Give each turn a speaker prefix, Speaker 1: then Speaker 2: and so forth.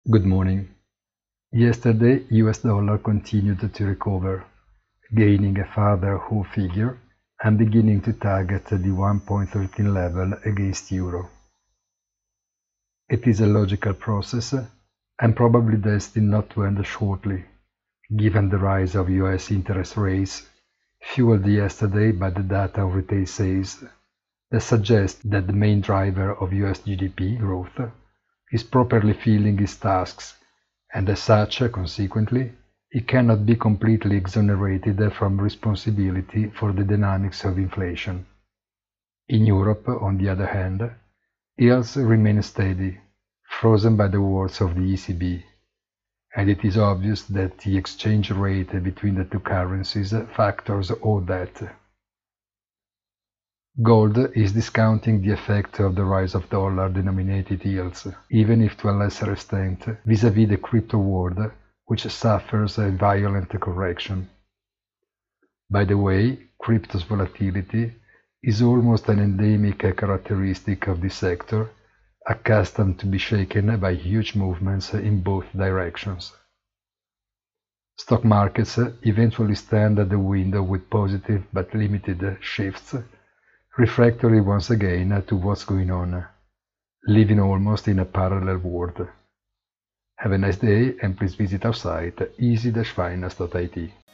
Speaker 1: Good morning. Yesterday, US dollar continued to recover, gaining a further whole figure and beginning to target the 1.13 level against euro. It is a logical process and probably destined not to end shortly, given the rise of US interest rates, fueled yesterday by the data of retail sales that suggest that the main driver of US GDP growth is properly filling its tasks, and as such, consequently, it cannot be completely exonerated from responsibility for the dynamics of inflation. In Europe, on the other hand, yields remain steady, frozen by the words of the ECB, and it is obvious that the exchange rate between the two currencies factors all that. Gold is discounting the effect of the rise of dollar-denominated yields, even if to a lesser extent, vis-à-vis the crypto world, which suffers a violent correction. By the way, crypto's volatility is almost an endemic characteristic of this sector, accustomed to be shaken by huge movements in both directions. Stock markets eventually stand at the window with positive but limited shifts, refractory once again to what's going on, living almost in a parallel world. Have a nice day and please visit our site easy-finance.it.